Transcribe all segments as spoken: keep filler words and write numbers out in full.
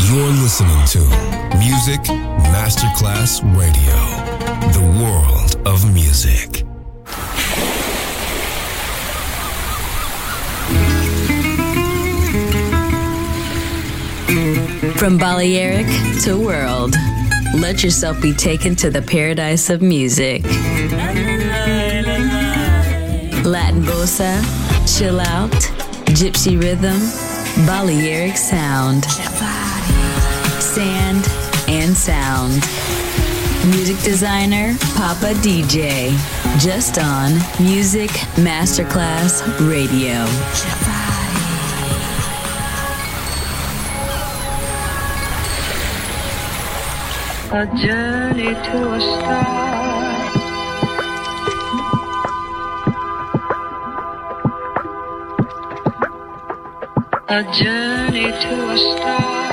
You're listening to Music Masterclass Radio, the world of music. From Balearic to world, let yourself be taken to the paradise of music. Latin bossa, chill out, gypsy rhythm, Balearic sound, sand and sound. Music designer, Papa D J, just on Music Masterclass Radio. A journey to a star. A journey to a star.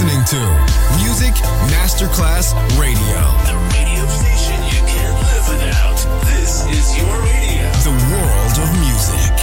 listening to Music Masterclass Radio. The radio station you can't live without. This is your radio. The world of music.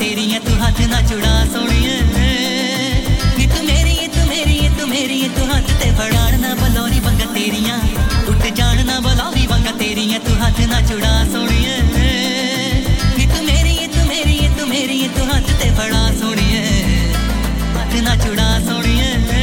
तेरियां तू हाथ ना चुड़ा सोनिए नी तू मेरी तू मेरी तू मेरी तू हाथ ते फड़ाण ना बलौरी वंगा तेरियां उठ जान ना बलौरी वंगा तेरियां तू हाथ ना चुड़ा सोनिए नी तू मेरी तू मेरी तू मेरी तू हाथ ते फड़ा सोनिए हाथ ना चुड़ा सोनिए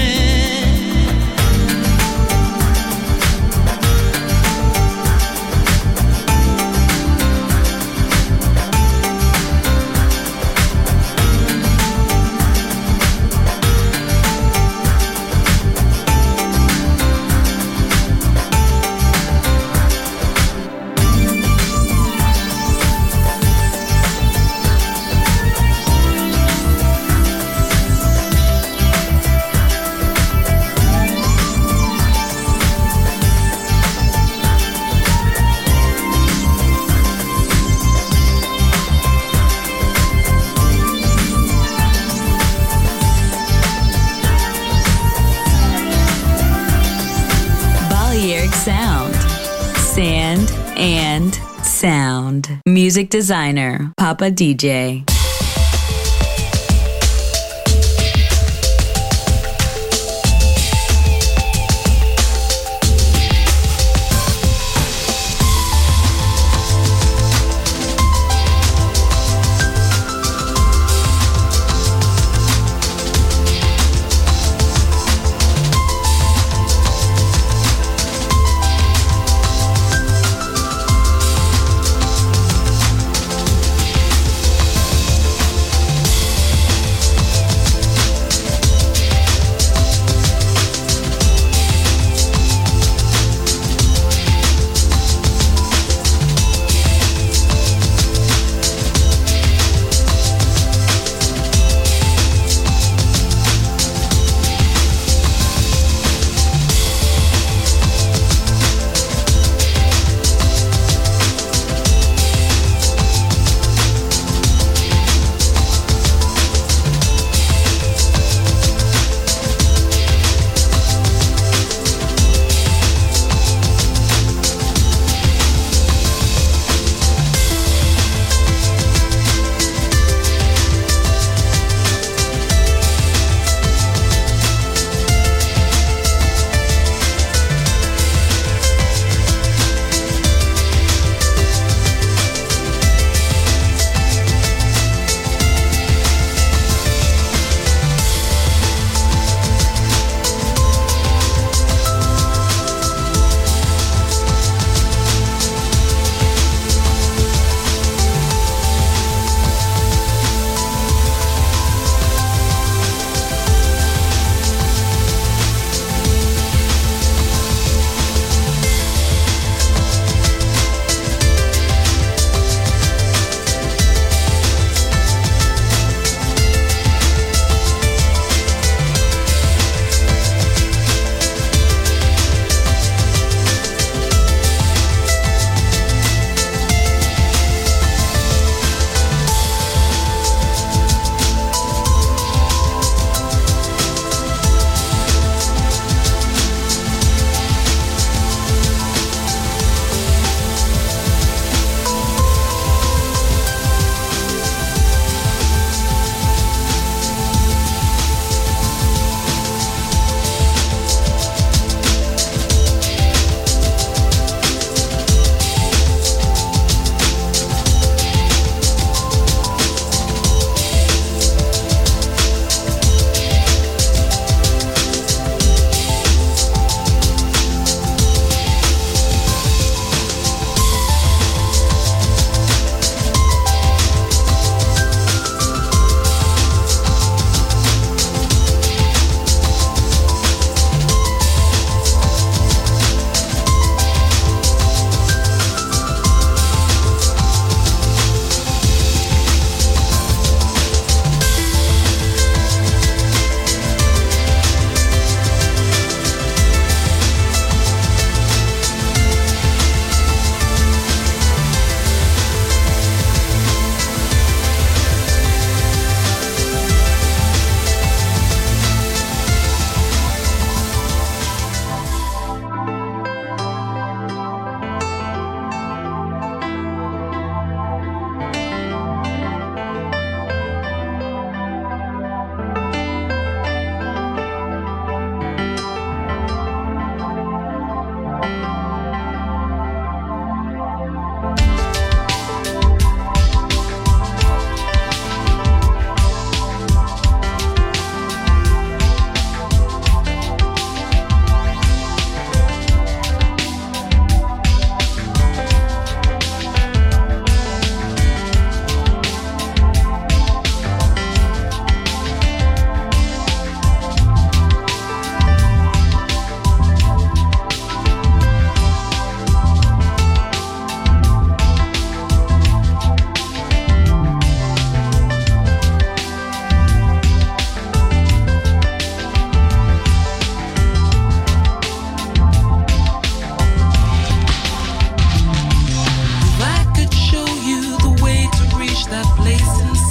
Sound. Sand and Sound. Music designer, Papa D J.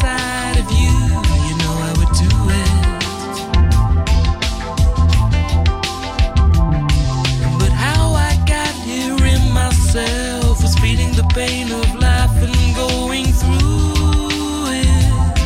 inside of you, you know I would do it. But how I got here in myself was feeling the pain of life and going through it.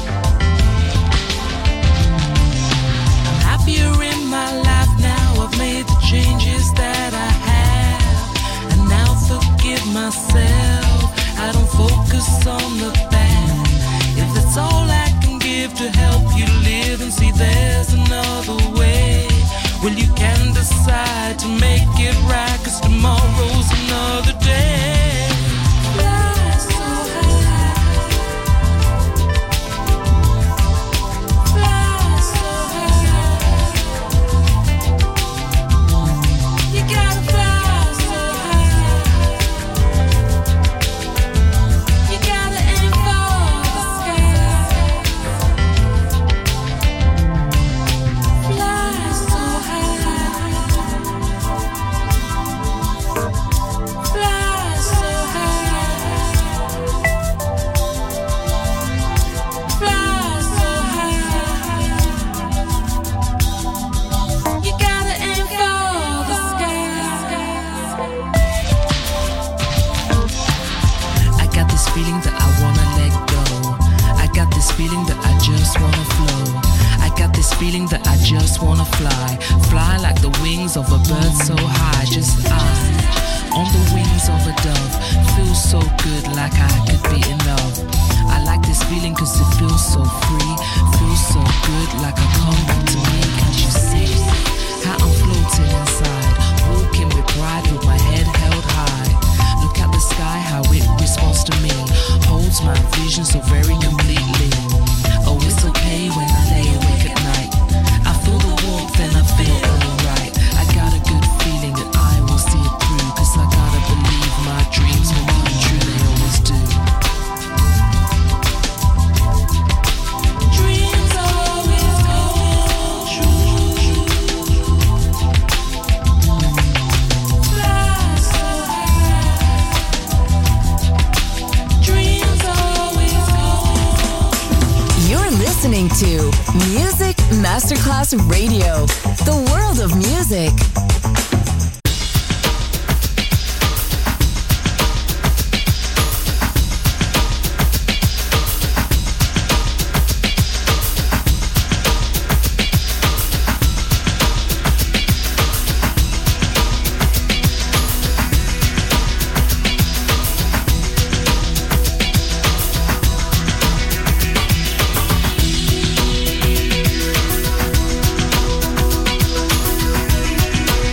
I'm happier in my life now, I've made the changes that I have, and now forgive myself, I don't focus on the bad. If that's all I can give to help you live and see there's another way, well you can decide to make it right, 'cause tomorrow's another day. Fly so high, fly so high, you gotta fly so high, you gotta aim for the sky. Fly so high, fly so high, fly so high, you gotta aim for the sky. I got this feeling that I wanna let go. I got this feeling that I just wanna flow. I got this feeling that I just wanna fly. Fly like the wings of a bird so high. Just I, on the wings of a dove. Feels so good, like I could be in love. I like this feeling 'cause it feels so free. Feels so good, like I come back to me. Can't you see how I'm floating inside? Walking with pride with my head held high. Look at the sky, how it responds to me. Holds my vision so very completely. Oh, it's okay when I lay awake at night. I feel the warmth and I feel alright. I got a good feeling that I will see it through, 'cause I gotta believe my dreams will come true, they always do. Dreams always come true. Fly so high, dreams always come true. You're listening to Music Masterclass Radio, the world of music. Fly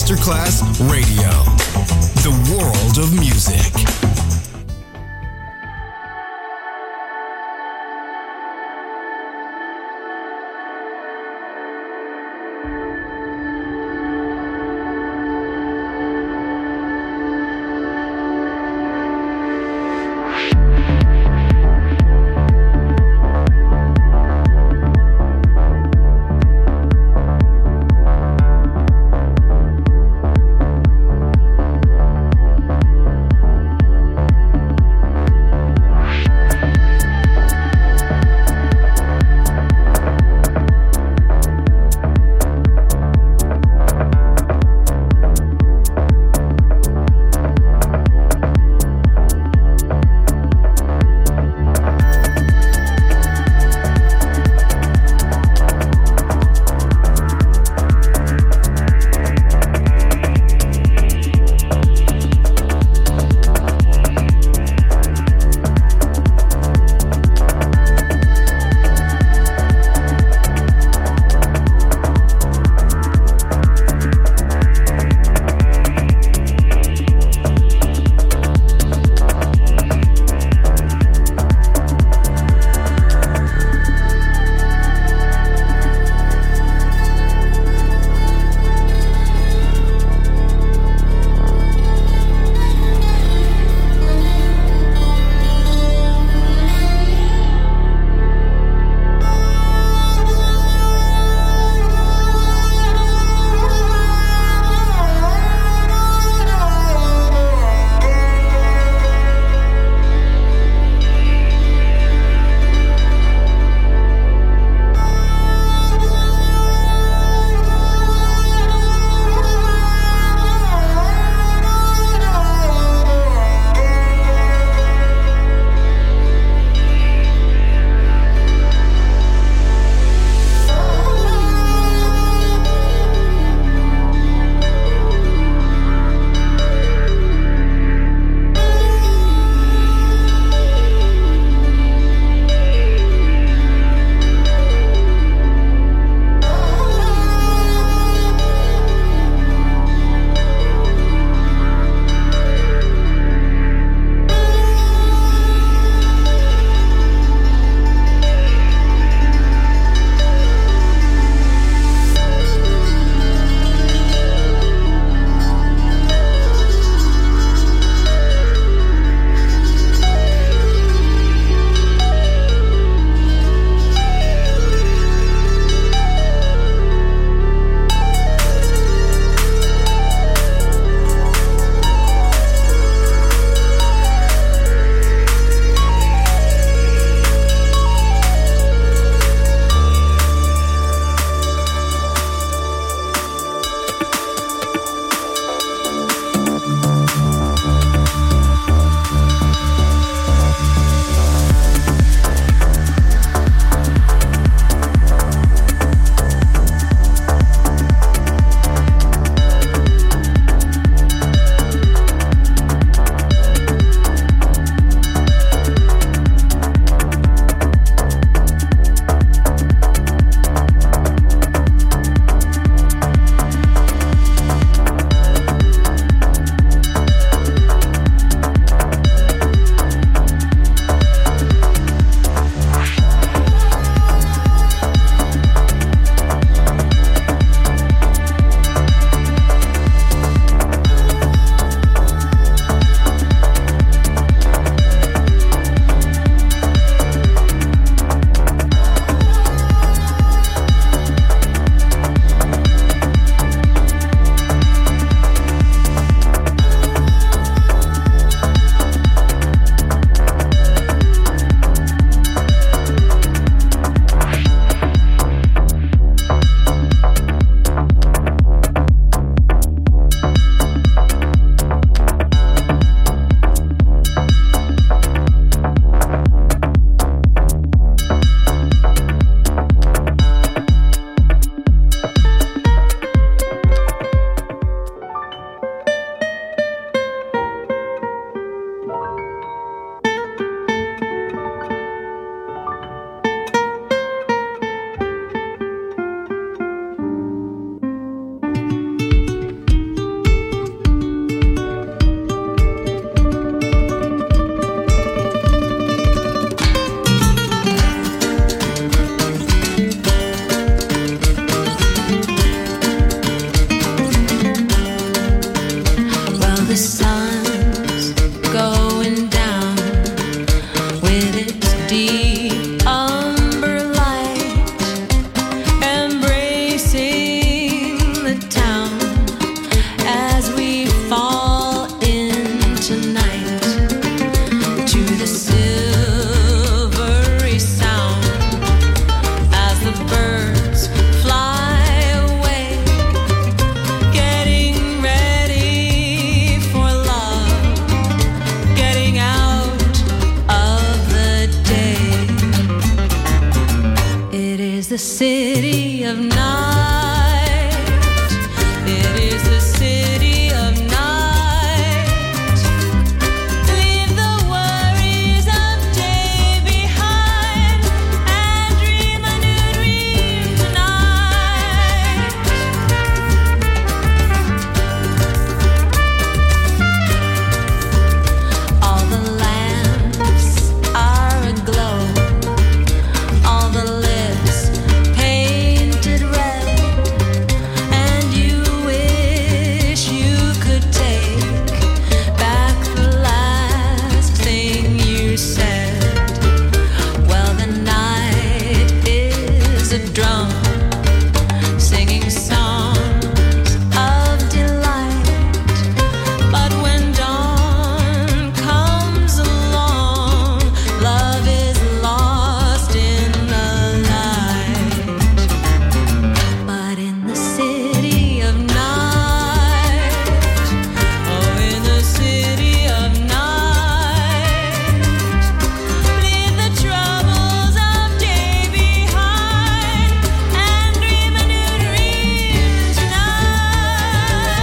Masterclass Radio. The world of music. is the city of night. It is the city of night. Leave the worries of day behind and dream a new dream tonight. All the lamps are aglow. All the lips painted red, and you wish you could take back the last thing you said. Well, the night is a drum singing songs of delight, but when dawn comes along, love is lost in the light. But in the city of night, oh, in the city of night, leave the troubles of day behind and dream a new dream tonight.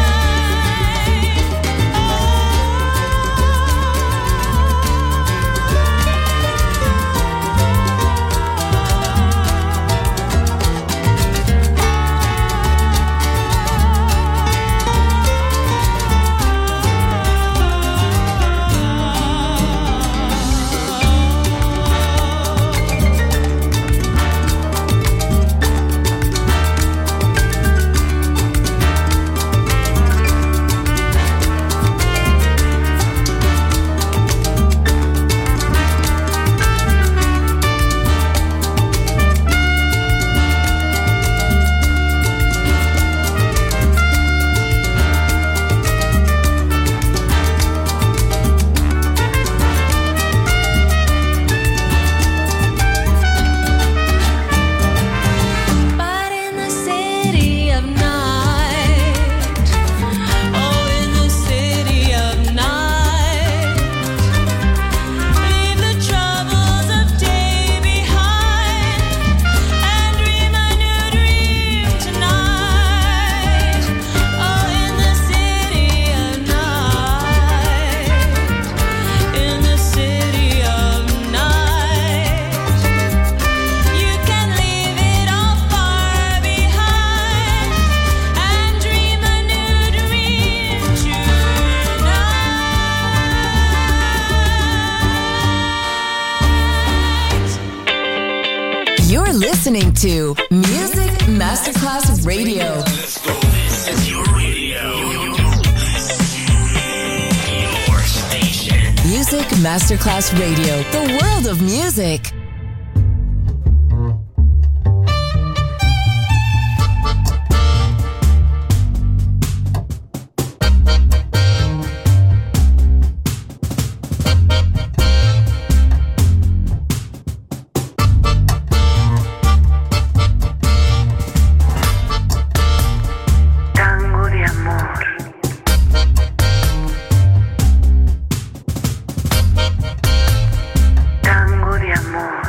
But in the city of night, oh, in the city of night, leave the troubles of day behind and dream a new dream tonight. Oh, in the city of night, in the city of night, you can leave it all far behind and dream a new dream tonight. You're listening to Music Masterclass Radio. Let's go. This is your radio. Your station. Music Masterclass Radio. The world of music. Tango de amor. Tango de amor.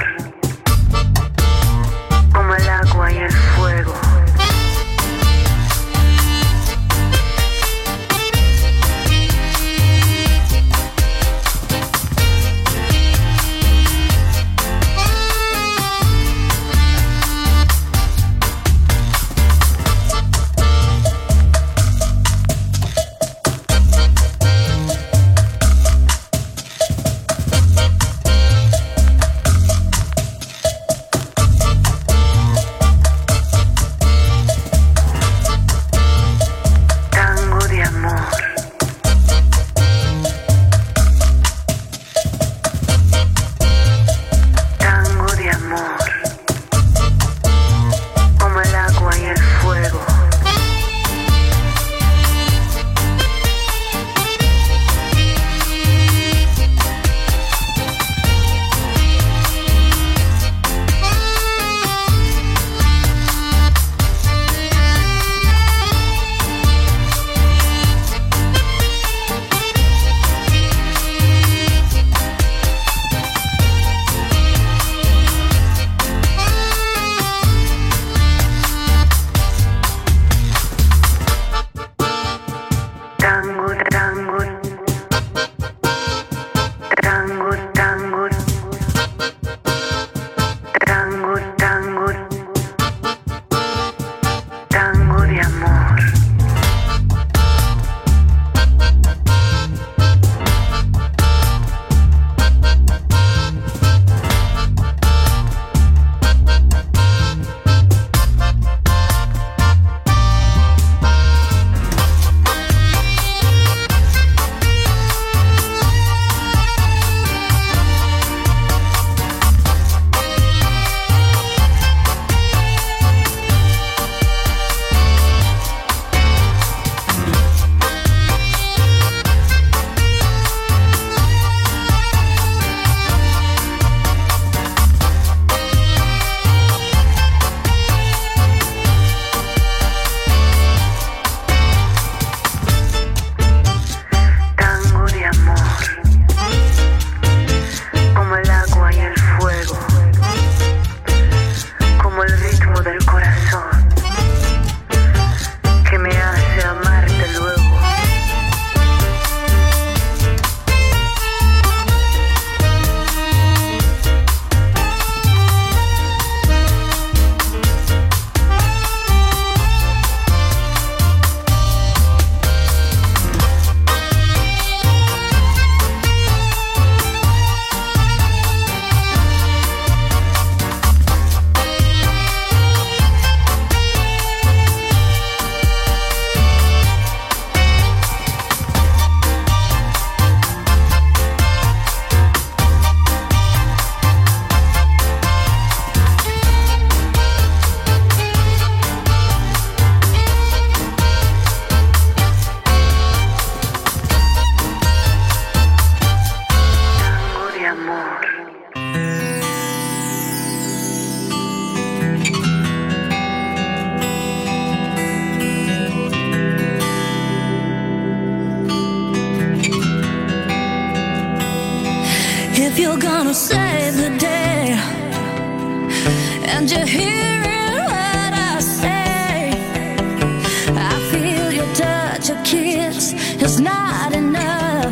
save the day, and you're hearing what I say. I feel your touch, your kiss is not enough.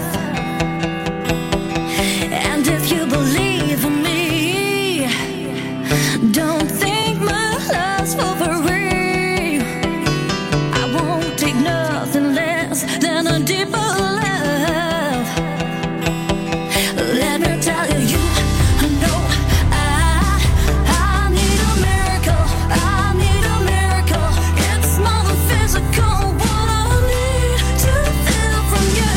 And if you believe in me, don't think my love's for free. I won't take nothing less than a deeper love. Let me tell you, you know I, I need a miracle. I need a miracle. It's more than physical. What I need to feel from you.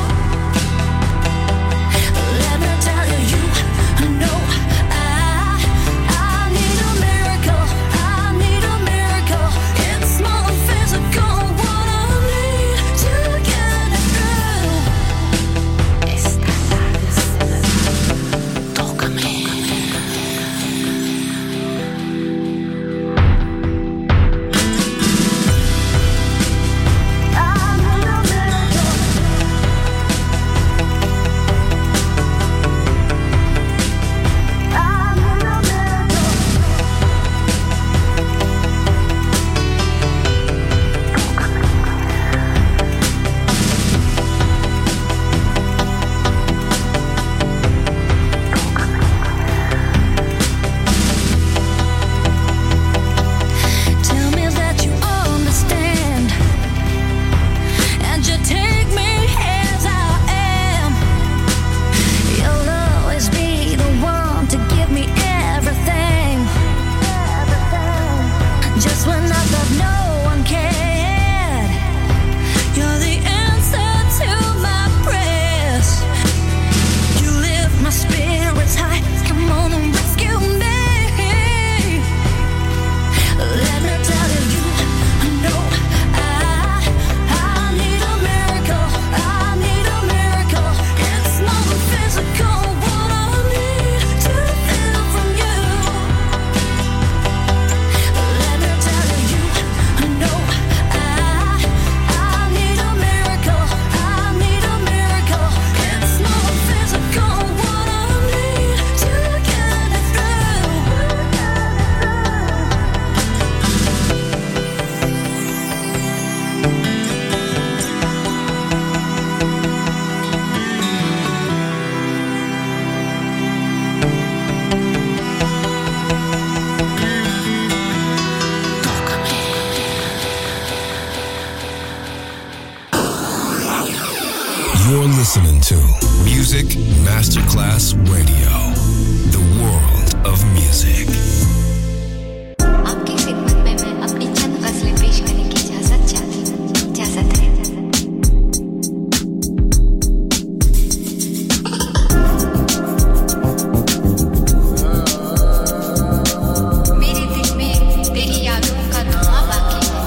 Let me tell you, you know I, I need a miracle. I need a miracle. It's more than physical. What I need to get it through. Tócame. I need a miracle. I need a miracle. Tell me that you understand, and you take me as I am. You'll always be the one to give me everything. Just when I thought no one cared, you're the answer to my prayers. You lift my spirits high. Come on and rescue me. Let me tell you, you know I, I need a miracle. I need a miracle. It's more than physical. What I need to feel from you. Let me tell you, you know I, I need a miracle. I need a miracle. It's more than physical. What I need to get it through. You're listening to Music Masterclass Radio, the world of music. आपकी खिदमत में मैं अपनी चंद गज़लें पेश करने की इजाजत चाहती हूँ। इजाजत है। मेरे दिल में तेरी यादों का धुआं बाकी है।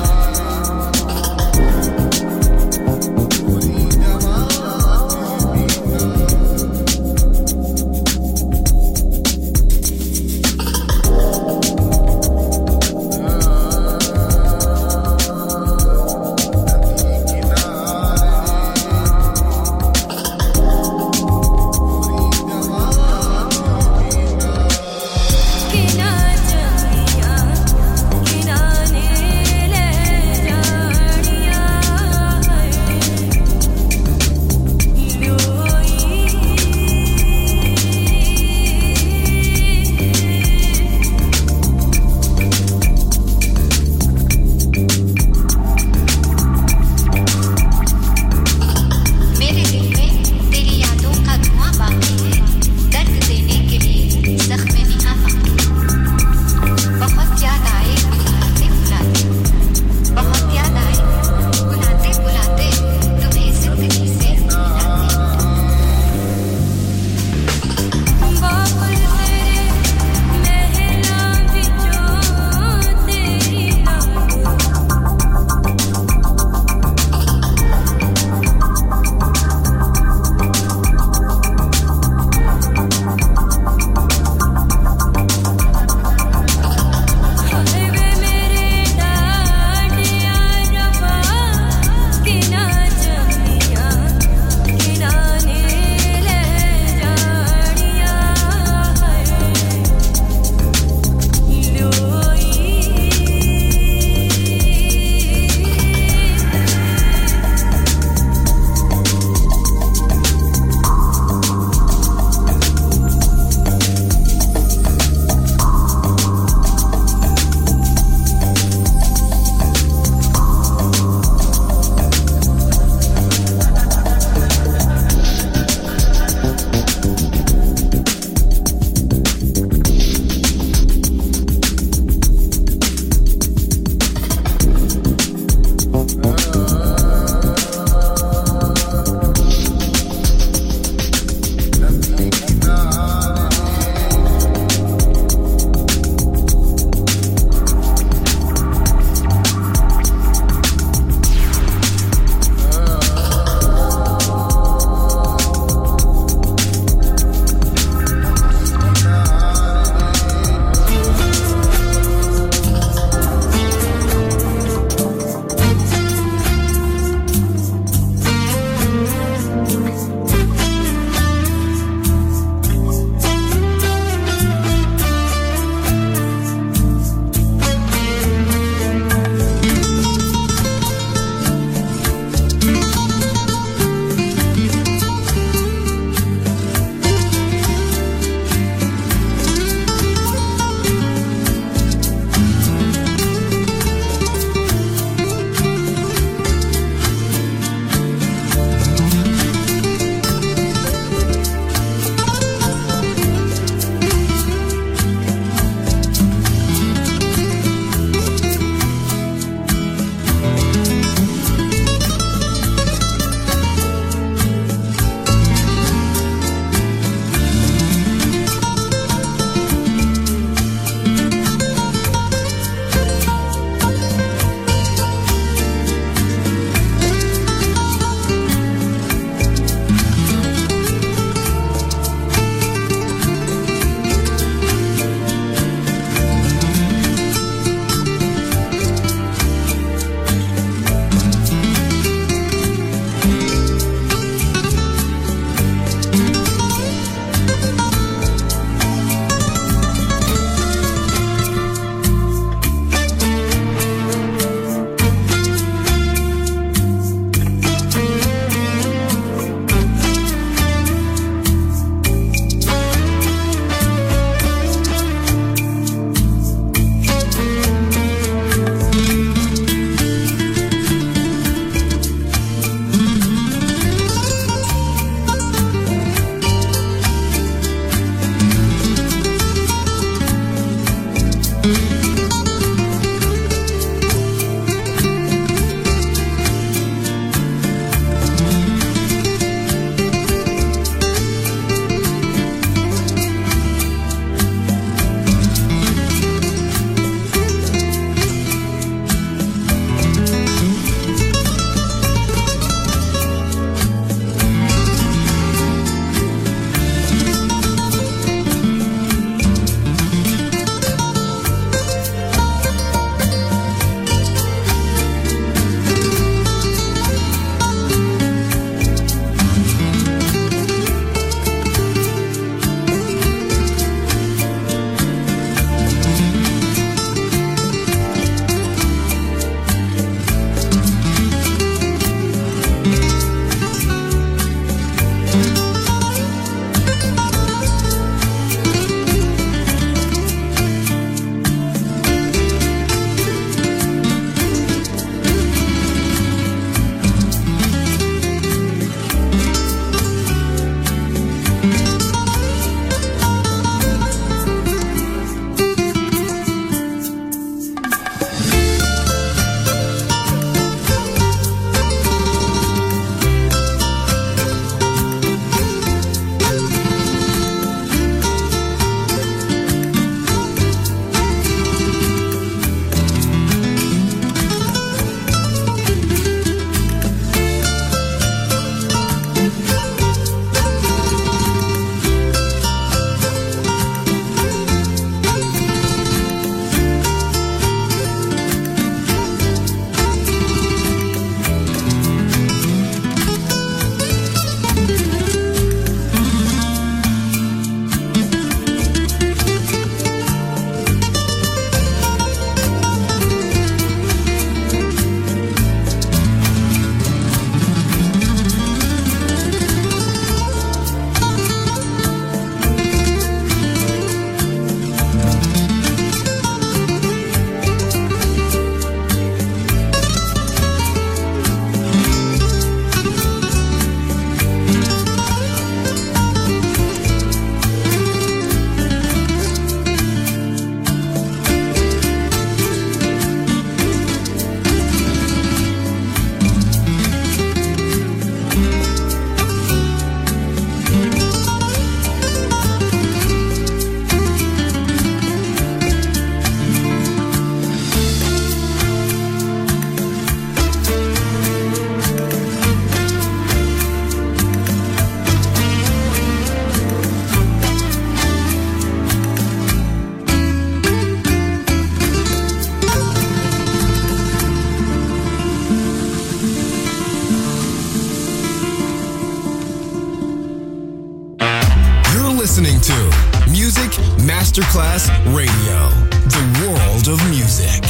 Masterclass Radio, the world of music.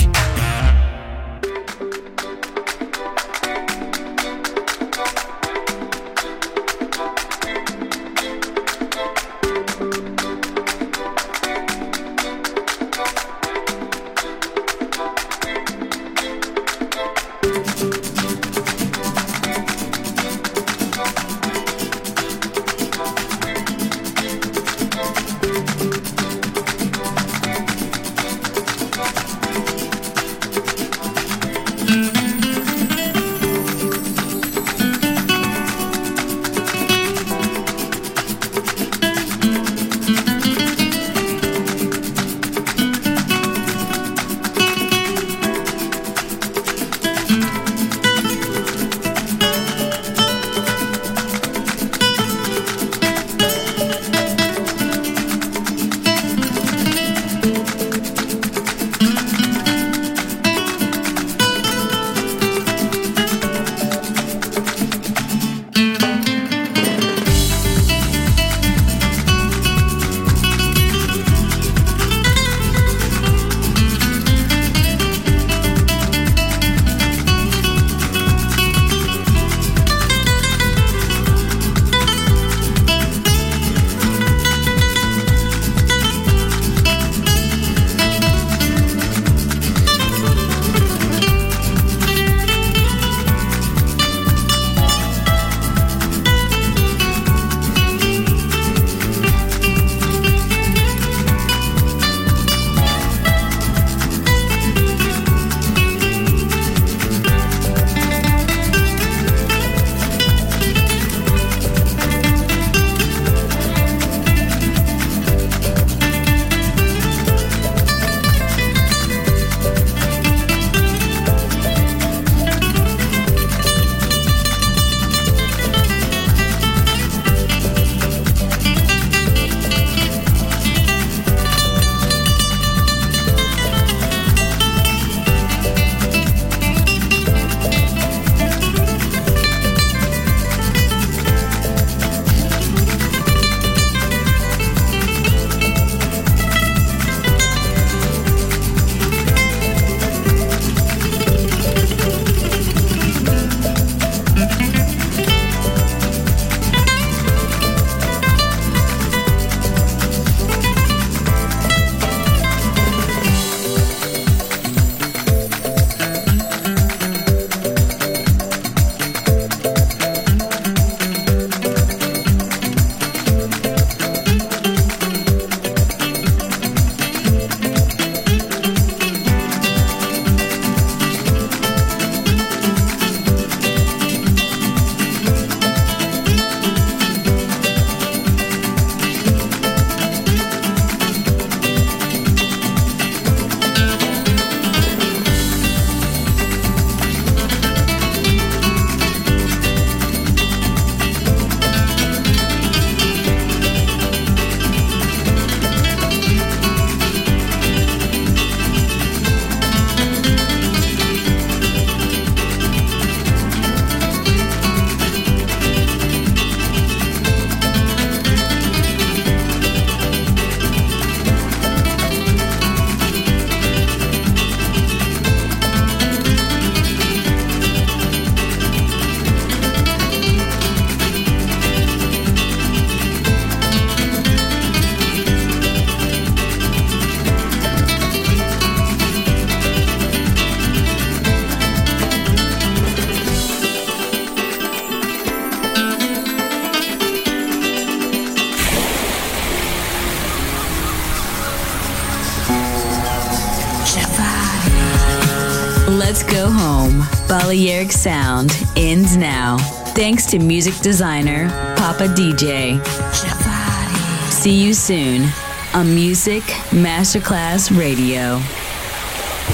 Let's Go Home. Balearic Sound ends now. Thanks to music designer Papa D J. See you soon on Music Masterclass Radio.